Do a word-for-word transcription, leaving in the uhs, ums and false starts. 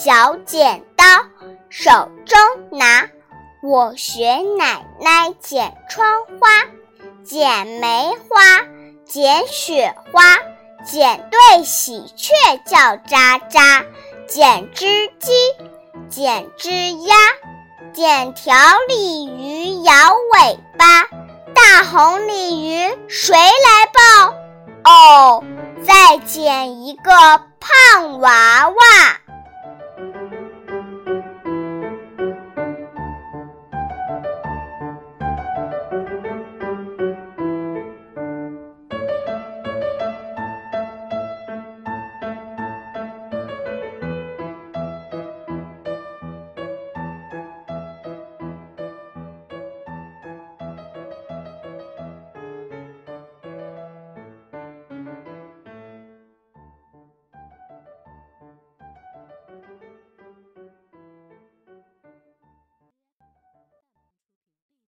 小剪刀手中拿，我学奶奶剪窗花，剪梅花，剪雪花，剪对喜鹊叫喳喳，剪只鸡，剪只鸭，剪条鲤鱼摇尾巴，大红鲤鱼谁来抱？哦，再剪一个胖娃娃。